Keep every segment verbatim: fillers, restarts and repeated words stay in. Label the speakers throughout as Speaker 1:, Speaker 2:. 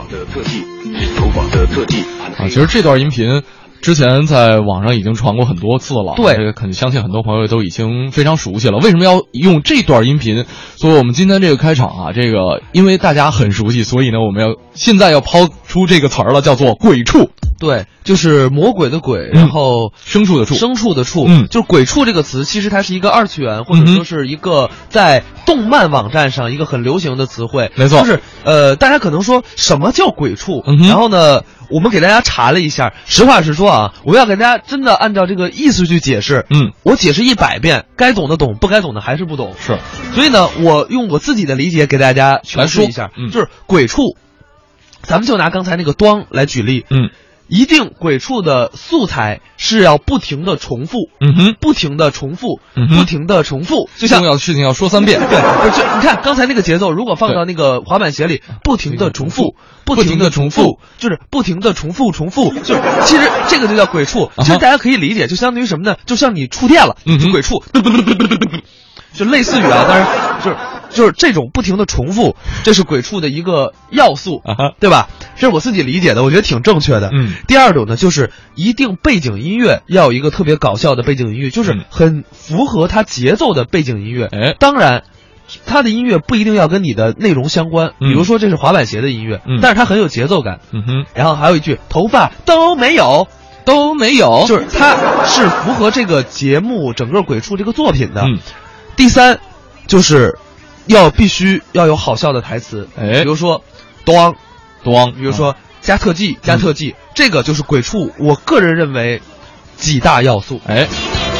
Speaker 1: 的特技，投保的特技
Speaker 2: 啊，其实这段音频之前在网上已经传过很多次了，
Speaker 3: 对，
Speaker 2: 这个肯相信很多朋友都已经非常熟悉了。为什么要用这段音频？所以我们今天这个开场啊，这个因为大家很熟悉，所以呢，我们要现在要抛出这个词儿了，叫做鬼畜。
Speaker 3: 对，就是魔鬼的鬼，然后
Speaker 2: 牲畜的畜，
Speaker 3: 牲畜的畜，
Speaker 2: 嗯，
Speaker 3: 就是鬼畜这个词，其实它是一个二次元，或者说是一个在动漫网站上一个很流行的词汇。
Speaker 2: 没错，
Speaker 3: 就是呃，大家可能说什么叫鬼畜？
Speaker 2: 嗯、
Speaker 3: 然后呢，我们给大家查了一下，实话实说啊，我要给大家真的按照这个意思去解释。
Speaker 2: 嗯，
Speaker 3: 我解释一百遍，该懂的懂，不该懂的还是不懂。
Speaker 2: 是，
Speaker 3: 所以呢，我用我自己的理解给大家诠释一下，
Speaker 2: 嗯、
Speaker 3: 就是鬼畜，咱们就拿刚才那个端来举例。
Speaker 2: 嗯。
Speaker 3: 一定鬼畜的素材是要不停的重复，
Speaker 2: 嗯哼，
Speaker 3: 不停的重复，
Speaker 2: 嗯
Speaker 3: 不停的重复，就像
Speaker 2: 重要的事情要说三遍。
Speaker 3: 对，就你看刚才那个节奏，如果放到那个滑板鞋里，不停的重复，不停的重复，就是不停的重复重复，就是其实这个就叫鬼畜。其实大家可以理解，就相当于什么呢？就像你触电了，就鬼畜，就类似于啊，但是就是就是这种不停的重复，这是鬼畜的一个要素，对吧？这是我自己理解的，我觉得挺正确的。
Speaker 2: 嗯，
Speaker 3: 第二种呢，就是一定背景音乐要有一个特别搞笑的背景音乐，就是很符合它节奏的背景音乐。
Speaker 2: 哎，
Speaker 3: 当然，它的音乐不一定要跟你的内容相关，比如说这是滑板鞋的音乐，
Speaker 2: 嗯、
Speaker 3: 但是它很有节奏感。
Speaker 2: 嗯哼，
Speaker 3: 然后还有一句头发都没有。
Speaker 2: 都没有，
Speaker 3: 就是它是符合这个节目整个鬼畜这个作品的。
Speaker 2: 嗯，
Speaker 3: 第三，就是要必须要有好笑的台词，
Speaker 2: 哎，
Speaker 3: 比如说，咣，
Speaker 2: 咣，
Speaker 3: 比如说加特技，加特技，嗯、这个就是鬼畜，我个人认为几大要素。
Speaker 2: 哎。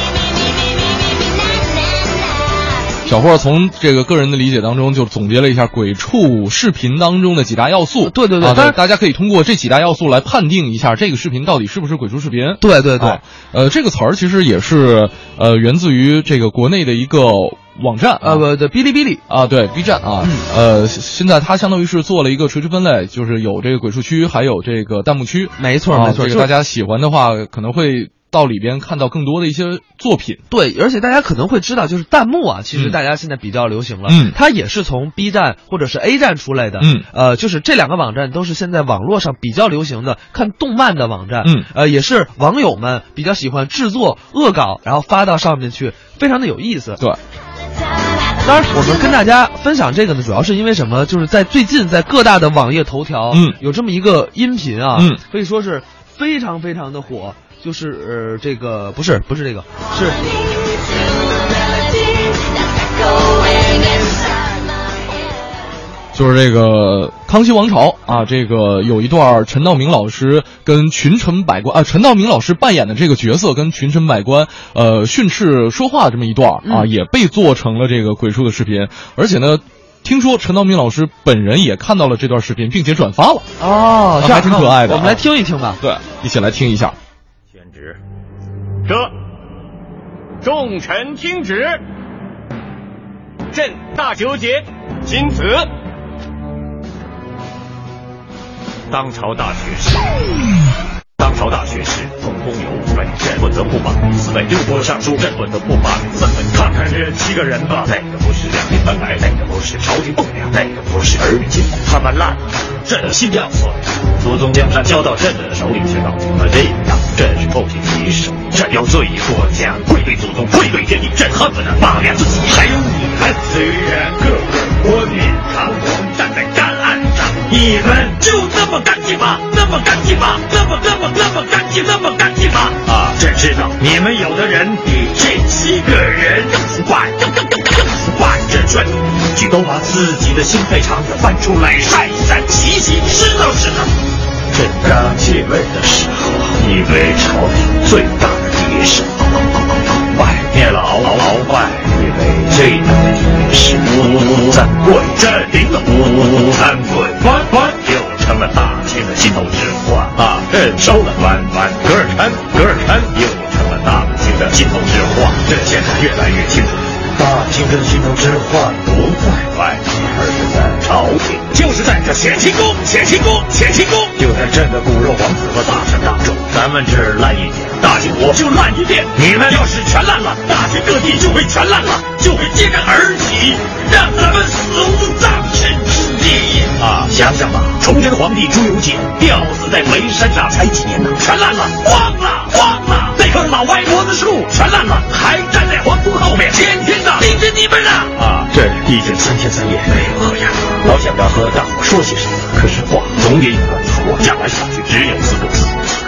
Speaker 2: 小霍从这个个人的理解当中，就总结了一下鬼畜视频当中的几大要素。
Speaker 3: 对对对，
Speaker 2: 啊、对大家可以通过这几大要素来判定一下这个视频到底是不是鬼畜视频。
Speaker 3: 对对对，
Speaker 2: 啊、呃，这个词儿其实也是呃源自于这个国内的一个网站啊，
Speaker 3: 呃不对，哔哩哔哩
Speaker 2: 啊，对 B 站啊，嗯、呃，现在它相当于是做了一个垂直分类，就是有这个鬼畜区，还有这个弹幕区。
Speaker 3: 没错、
Speaker 2: 啊、
Speaker 3: 没错，
Speaker 2: 这个大家喜欢的话，可能会到里边看到更多的一些作品。
Speaker 3: 对，而且大家可能会知道，就是弹幕啊，其实大家现在比较流行了。
Speaker 2: 嗯，
Speaker 3: 它也是从 B 站或者是 A 站出来的。
Speaker 2: 嗯，
Speaker 3: 呃，就是这两个网站都是现在网络上比较流行的看动漫的网站。
Speaker 2: 嗯，
Speaker 3: 呃，也是网友们比较喜欢制作恶搞，然后发到上面去，非常的有意思。
Speaker 2: 对。
Speaker 3: 当然，我们跟大家分享这个呢，主要是因为什么？就是在最近在各大的网页头条，
Speaker 2: 嗯，
Speaker 3: 有这么一个音频啊，
Speaker 2: 嗯，
Speaker 3: 可以说是非常非常的火。就是呃，这个不是不是这个是，
Speaker 2: 就是这个康熙王朝啊，这个有一段陈道明老师跟群臣百官啊，陈道明老师扮演的这个角色跟群臣百官呃训斥说话这么一段啊，
Speaker 3: 嗯、
Speaker 2: 也被做成了这个鬼畜的视频，而且呢。听说陈道明老师本人也看到了这段视频，并且转发了。
Speaker 3: 哦，
Speaker 2: 这还挺可爱的。
Speaker 3: 我们来听一听吧。
Speaker 2: 对，一起来听一下。
Speaker 4: 宣旨，这众臣听旨，朕大纠结，钦此。当朝大学士，当朝大学士统共有五位，朕不得不把四位六国尚书，朕不得不把三位。看看这七个人吧，哪个不是两鬓斑白，哪个不是朝廷栋梁，哪个不是儿女亲，他们烂了，朕心要碎。祖宗江山交到朕的手里，却搞成了这样，朕是后天提手，朕要罪过奖，愧对祖宗，愧对天地，朕恨不得骂两自己。还有你们，虽然个个冠冕堂皇站在干岸上，你们就那么干净吗？那么干净吗？那么那么那么干净，那么干净吗？啊，朕知道你们有的人比这七个人更腐败，更更更更腐败。朕劝你们去都把自己的心肺肠子翻出来晒一晒，洗洗，知道知道。朕刚继位的时候，你为朝廷最大的敌人，拜灭了鳌鳌拜，你为最大的敌人是吴三桂，朕领了吴三桂，关关又成了大清的心头之患啊！朕收了关关，噶尔琛，噶尔琛又成了大清的心头之患。朕现在越来越清楚，大清的心头之患不在外面，而是在朝廷，就是在这显清宫，显清宫，显清宫，就在朕的骨肉皇子和大臣当中，咱们这儿烂一点，大清国就烂一遍。你们要是全烂了，大清各地就会全烂了，就会揭竿而起，让咱们死无葬身之地。 啊！想想吧，崇祯皇帝朱由检吊死在煤山上才几年呢，全烂了，荒了，荒了！那棵老歪脖子树全烂了，还站在皇宫后面，天天的盯着你们呢！啊，这已经三天三夜没有喝呀，老想着和大伙说些什么，可是话总也有个底。我讲来讲去只有四个字。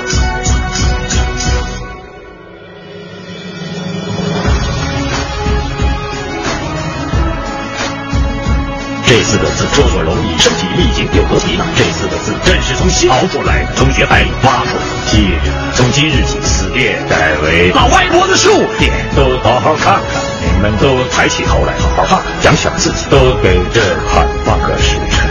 Speaker 4: 这四个字说说容易，身体力行有何敌呢？这四个字正是从心熬出来的，从血海里挖出来的。接着从今日起，此殿改为老歪脖子树殿，都好好看看，你们都抬起头来好好看，想想自己，都给这汉放个时辰。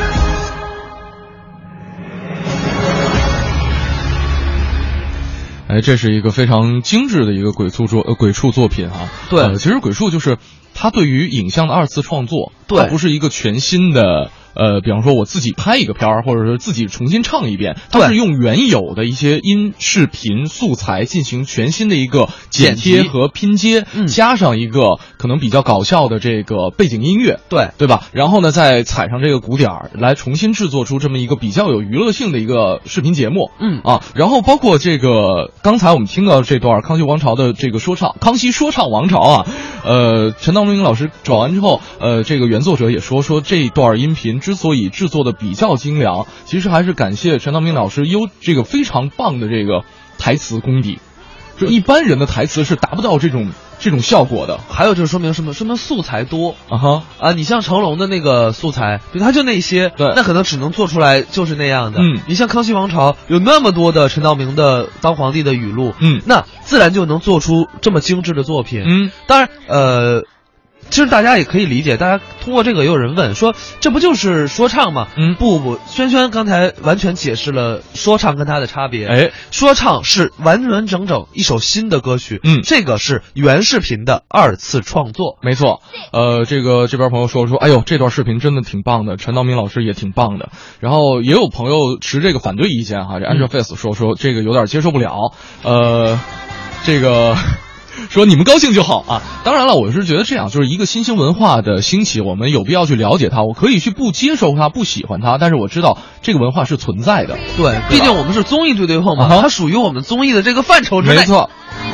Speaker 2: 哎，这是一个非常精致的一个鬼畜作呃鬼畜作品啊。
Speaker 3: 对，
Speaker 2: 呃，其实鬼畜就是它对于影像的二次创作，
Speaker 3: 对，
Speaker 2: 它不是一个全新的。呃，比方说我自己拍一个片儿，或者是自己重新唱一遍，它是用原有的一些音视频素材进行全新的一个剪贴和拼接，
Speaker 3: 嗯、
Speaker 2: 加上一个可能比较搞笑的这个背景音乐，
Speaker 3: 对
Speaker 2: 对吧？然后呢，再踩上这个鼓点儿，来重新制作出这么一个比较有娱乐性的一个视频节目，
Speaker 3: 嗯
Speaker 2: 啊，然后包括这个刚才我们听到这段康熙王朝的这个说唱，康熙说唱王朝啊，呃，陈道明老师找完之后，呃，这个原作者也说说这段音频之所以制作的比较精良，其实还是感谢陈道明老师优这个非常棒的这个台词功底，就一般人的台词是达不到这种这种效果的。
Speaker 3: 还有就是说明什么？说明素材多
Speaker 2: 啊哈
Speaker 3: 啊！你像成龙的那个素材，对，他就那些，
Speaker 2: 对，
Speaker 3: 那可能只能做出来就是那样的。
Speaker 2: 嗯，
Speaker 3: 你像康熙王朝有那么多的陈道明的当皇帝的语录，
Speaker 2: 嗯，
Speaker 3: 那自然就能做出这么精致的作品。
Speaker 2: 嗯，
Speaker 3: 当然，呃。其实大家也可以理解，大家通过这个也有人问说，这不就是说唱吗？
Speaker 2: 嗯，
Speaker 3: 不不，轩轩刚才完全解释了说唱跟它的差别。
Speaker 2: 哎，
Speaker 3: 说唱是完完整整一首新的歌曲，
Speaker 2: 嗯，
Speaker 3: 这个是原视频的二次创作。
Speaker 2: 没错，呃，这个这边朋友说说，哎呦，这段视频真的挺棒的，陈道明老师也挺棒的。然后也有朋友持这个反对意见哈，这 Angel Face 说说这个有点接受不了，呃，这个。说你们高兴就好啊！当然了，我是觉得这样，就是一个新兴文化的兴起，我们有必要去了解它。我可以去不接受它、不喜欢它，但是我知道这个文化是存在的。
Speaker 3: 对，毕竟我们是综艺对对碰嘛，啊、它属于我们综艺的这个范畴之内。
Speaker 2: 没错。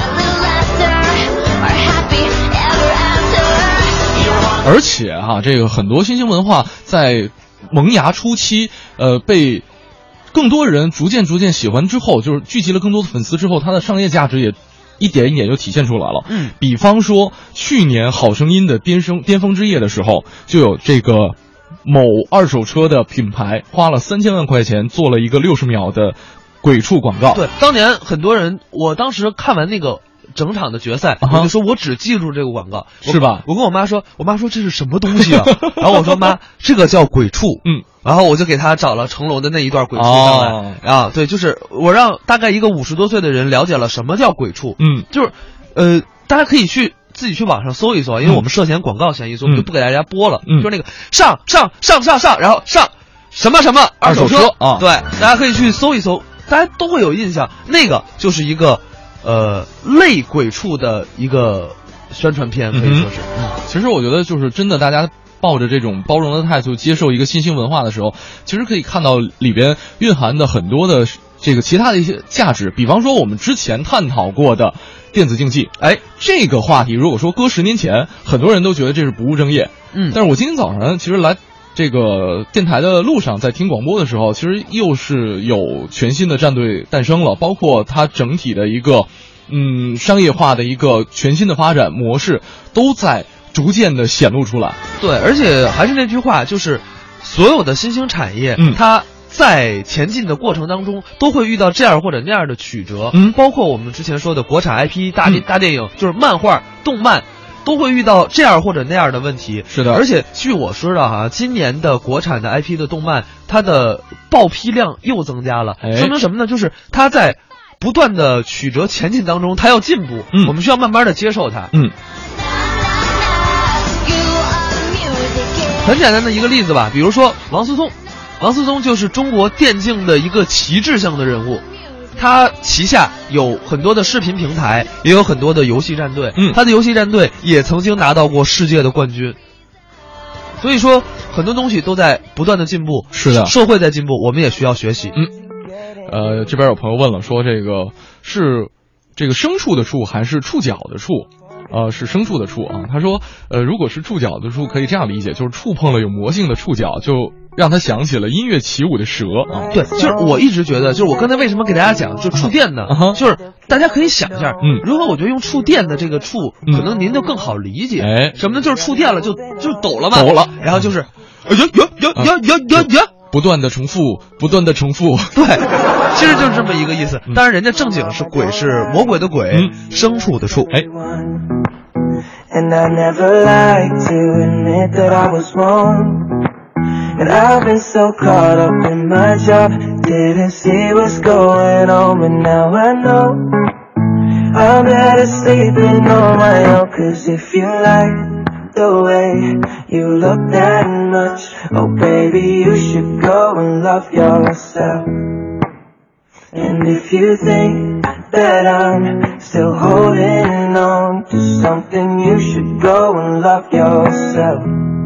Speaker 2: 而且啊，这个很多新兴文化在萌芽初期，呃，被更多人逐渐逐渐喜欢之后，就是聚集了更多的粉丝之后，它的商业价值也。一点一点就体现出来了。
Speaker 3: 嗯，
Speaker 2: 比方说去年《好声音》的巅峰巅峰之夜的时候，就有这个某二手车的品牌花了三千万块钱做了一个六十秒的鬼畜广告。
Speaker 3: 对，当年很多人，我当时看完那个整场的决赛， uh-huh. 我就说我只记住这个广告，
Speaker 2: 是吧？
Speaker 3: 我跟我妈说，我妈说这是什么东西啊？然后我说妈，这个叫鬼畜。
Speaker 2: 嗯。
Speaker 3: 然后我就给他找了成龙的那一段鬼畜上来、
Speaker 2: 哦、
Speaker 3: 啊，对，就是我让大概一个五十多岁的人了解了什么叫鬼畜，
Speaker 2: 嗯，
Speaker 3: 就是，呃，大家可以去自己去网上搜一搜，因为我们涉嫌广告嫌疑，所以我们就不给大家播了，
Speaker 2: 嗯，
Speaker 3: 就是那个上上上上上，然后上什么什么二手
Speaker 2: 车啊，
Speaker 3: 对，大家可以去搜一搜，大家都会有印象，那个就是一个呃类鬼畜的一个宣传片，可以说是，
Speaker 2: 嗯，其实我觉得就是真的大家。抱着这种包容的态度接受一个新兴文化的时候，其实可以看到里边蕴含的很多的这个其他的一些价值。比方说我们之前探讨过的电子竞技，哎，这个话题如果说搁十年前，很多人都觉得这是不务正业。
Speaker 3: 嗯，
Speaker 2: 但是我今天早上其实来这个电台的路上，在听广播的时候，其实又是有全新的战队诞生了，包括它整体的一个嗯商业化的一个全新的发展模式都在逐渐的显露出来。
Speaker 3: 对，而且还是那句话，就是所有的新兴产业，
Speaker 2: 嗯，
Speaker 3: 它在前进的过程当中都会遇到这样或者那样的曲折，
Speaker 2: 嗯，
Speaker 3: 包括我们之前说的国产 I P 大电、
Speaker 2: 嗯、
Speaker 3: 大电影，就是漫画、动漫，都会遇到这样或者那样的问题。
Speaker 2: 是的，
Speaker 3: 而且据我知道哈，今年的国产的 I P 的动漫，它的报批量又增加了，
Speaker 2: 哎、
Speaker 3: 说明什么呢？就是它在不断的曲折前进当中，它要进步，
Speaker 2: 嗯，
Speaker 3: 我们需要慢慢的接受它，
Speaker 2: 嗯。
Speaker 3: 很简单的一个例子吧，比如说王思聪，王思聪就是中国电竞的一个旗帜性的人物，他旗下有很多的视频平台，也有很多的游戏战队，
Speaker 2: 嗯，
Speaker 3: 他的游戏战队也曾经拿到过世界的冠军。 所以说很多东西都在不断的进步，
Speaker 2: 是的，
Speaker 3: 社会在进步，我们也需要学习。
Speaker 2: 嗯，呃，这边有朋友问了，说这个是这个牲畜的畜还是触角的触？呃，是牲畜的畜啊。他说，呃，如果是触角的触，可以这样理解，就是触碰了有魔性的触角，就让他想起了音乐起舞的蛇啊。
Speaker 3: 对，就是我一直觉得，就是我刚才为什么给大家讲，就触电呢？
Speaker 2: 啊、
Speaker 3: 就是大家可以想一下，
Speaker 2: 嗯，
Speaker 3: 如果我觉得用触电的这个触，可能您就更好理解。
Speaker 2: 哎、
Speaker 3: 什么呢？就是触电了就就抖了嘛，
Speaker 2: 抖了，
Speaker 3: 然后就是，呀呀呀呀呀呀呀。
Speaker 2: 不断的重复，不断的重复，
Speaker 3: 对，其实就是这么一个意思。当然，人家正经是鬼，是魔鬼的鬼，
Speaker 2: 嗯、
Speaker 3: 牲畜的畜。哎。
Speaker 5: And I never like to admit that I was wrong. And I've been so caught up in my job, didn't see what's going on, but now I know I'm better sleeping on my own. Cause if you like the way you look that much, oh baby, you should go and love yourself. And if you think that I'm still holding on to something, you should go and love yourself.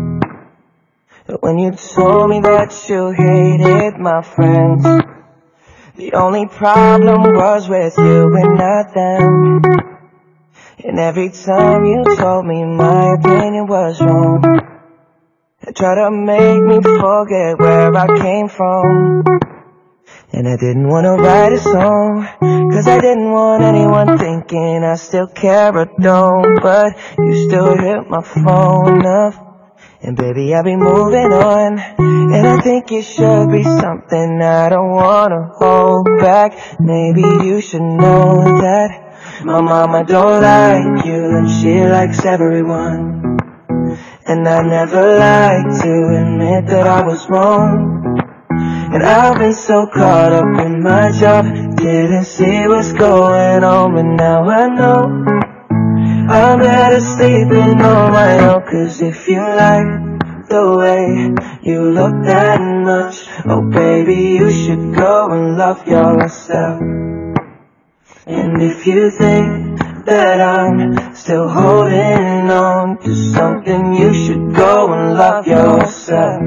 Speaker 5: But when you told me that you hated my friends, the only problem was with you and not them. And every time you told me my opinion was wrong, you tried to make me forget where I came from. And I didn't want to write a song, cause I didn't want anyone thinking I still care or don't. But you still hit my phone up, and baby I'll be moving on. And I think it should be something I don't want to hold back. Maybe you should know that my mama don't like you and she likes everyone. And I never like to admit that I was wrong. And I've been so caught up in my job, didn't see what's going on, but now I know I'm better sleeping on my own. Cause if you like the way you look that much, oh baby, you should go and love yourself. And if you think that I'm still holding on to something, you should go and love yourself.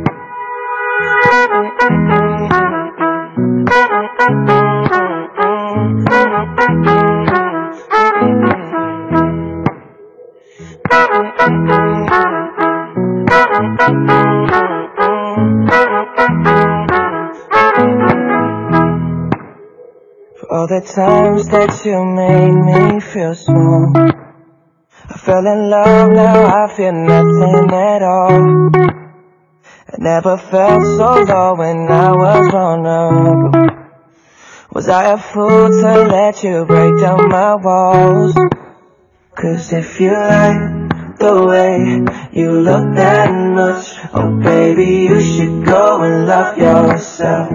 Speaker 5: For all the times that you made me feel small, I fell in love, now I feel nothing at all. I never felt so low when I was vulnerable. Was I a fool to let you break down my walls? Cause if you like the way you look that much, oh baby, you should go and love yourself.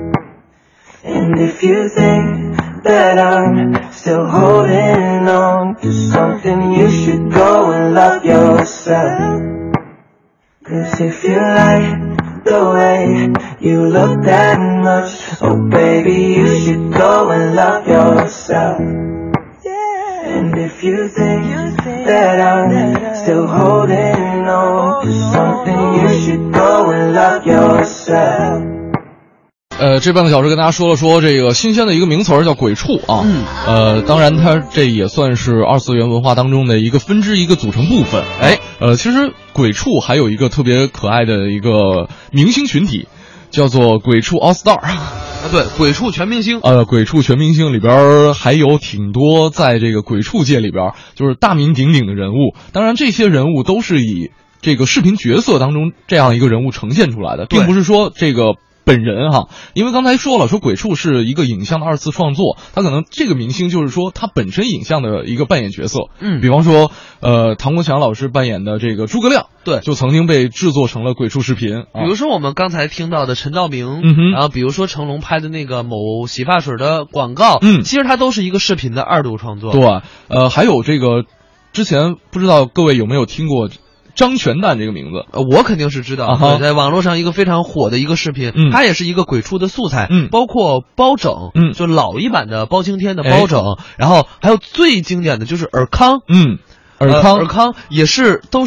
Speaker 5: And if you think that I'm still holding on to something, you should go and love yourself. Cause if you like the way you look that much, oh baby, you should go and love yourself. And if you think that I'm still holding on to something, you should go and love yourself.
Speaker 2: 呃，这半个小时跟大家说了说这个新鲜的一个名词儿叫鬼畜啊，
Speaker 3: 嗯，
Speaker 2: 呃，当然它这也算是二次元文化当中的一个分支，一个组成部分。哎，呃，其实鬼畜还有一个特别可爱的一个明星群体，叫做鬼畜 All Star。
Speaker 3: 啊，对，鬼畜全明星。
Speaker 2: 呃，鬼畜全明星里边还有挺多在这个鬼畜界里边就是大名鼎鼎的人物，当然这些人物都是以这个视频角色当中这样一个人物呈现出来的，并不是说这个本人哈，因为刚才说了，说鬼畜是一个影像的二次创作，他可能这个明星就是说他本身影像的一个扮演角色，
Speaker 3: 嗯，
Speaker 2: 比方说，呃，唐国强老师扮演的这个诸葛亮，
Speaker 3: 对，
Speaker 2: 就曾经被制作成了鬼畜视频，
Speaker 3: 比如说我们刚才听到的陈道明，
Speaker 2: 嗯哼，
Speaker 3: 然后比如说成龙拍的那个某洗发水的广告，
Speaker 2: 嗯，
Speaker 3: 其实它都是一个视频的二度创作，
Speaker 2: 对，呃，还有这个之前不知道各位有没有听过张全蛋这个名字，
Speaker 3: 呃，我肯定是知道，
Speaker 2: 啊、对，
Speaker 3: 在网络上一个非常火的一个视频，
Speaker 2: 嗯，
Speaker 3: 它也是一个鬼畜的素材，
Speaker 2: 嗯，
Speaker 3: 包括包拯，
Speaker 2: 嗯，
Speaker 3: 就老一版的包青天的包拯，哎，然后还有最经典的就是尔康，
Speaker 2: 嗯，尔康，
Speaker 3: 呃、尔康也是都是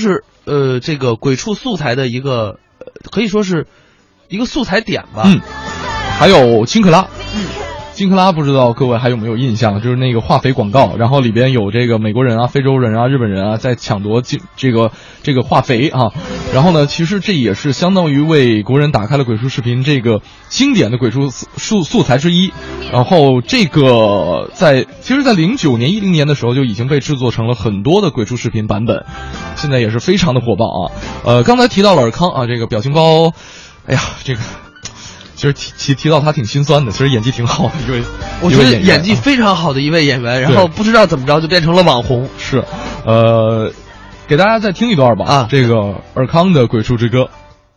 Speaker 3: 呃这个鬼畜素材的一个，呃可以说是一个素材点吧。
Speaker 2: 嗯，还有金克拉。
Speaker 3: 嗯。
Speaker 2: 金克拉不知道各位还有没有印象，就是那个化肥广告，然后里边有这个美国人啊、非洲人啊、日本人啊在抢夺金这个这个化肥啊，然后呢，其实这也是相当于为国人打开了鬼畜视频这个经典的鬼畜素素材之一。然后这个在其实，在零九年、一零年的时候就已经被制作成了很多的鬼畜视频版本，现在也是非常的火爆啊。呃，刚才提到了尔康啊，这个表情包，哎呀，这个。其实提提提到他挺心酸的，其实演技挺好的一位，
Speaker 3: 我觉得演技非常好的一位演员，然后不知道怎么着就变成了网红。
Speaker 2: 是，呃，给大家再听一段吧啊，这个尔康的《鬼畜之歌》。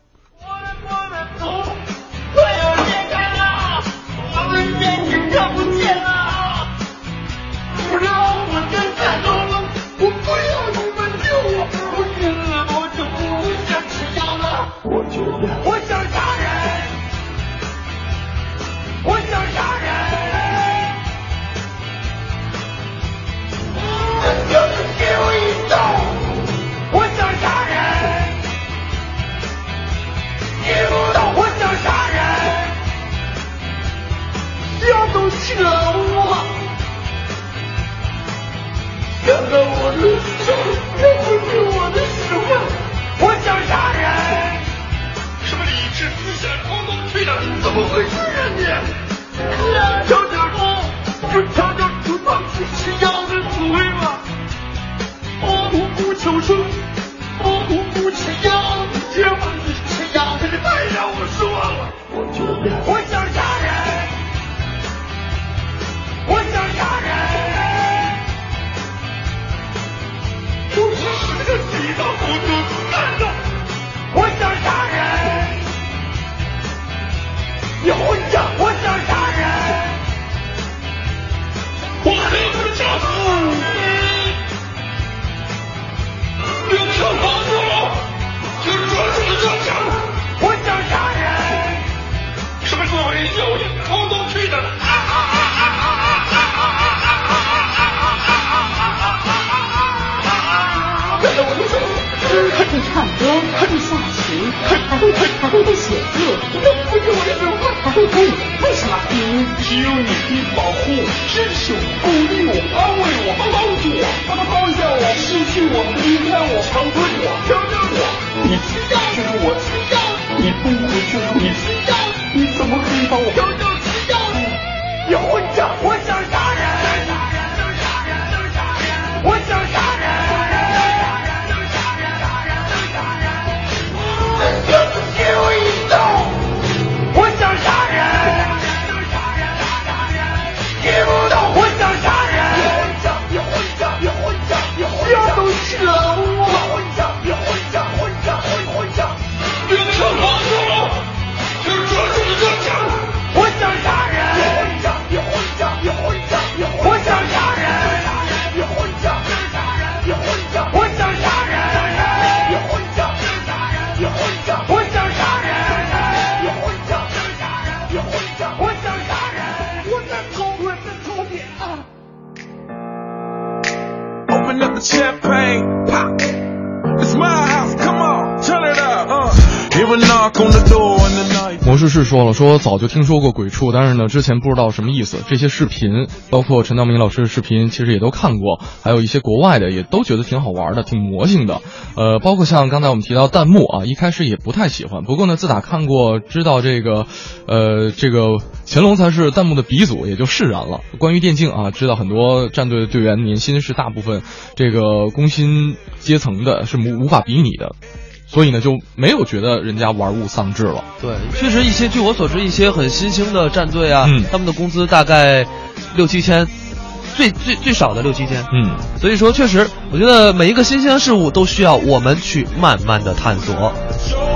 Speaker 2: 魔术师说了，说早就听说过鬼畜，但是呢，之前不知道什么意思。这些视频，包括陈道明老师的视频，其实也都看过，还有一些国外的，也都觉得挺好玩的，挺魔性的。呃，包括像刚才我们提到弹幕啊，一开始也不太喜欢，不过呢，自打看过，知道这个，呃，这个乾隆才是弹幕的鼻祖，也就释然了。关于电竞啊，知道很多战队的队员年薪是大部分这个工薪阶层的，是无无法比拟的。所以呢，就没有觉得人家玩物丧志了。
Speaker 3: 对，确实一些，据我所知，一些很新兴的战队啊，嗯、他们的工资大概六七千，最最最少的六七千。
Speaker 2: 嗯，
Speaker 3: 所以说，确实，我觉得每一个新鲜事物都需要我们去慢慢的探索。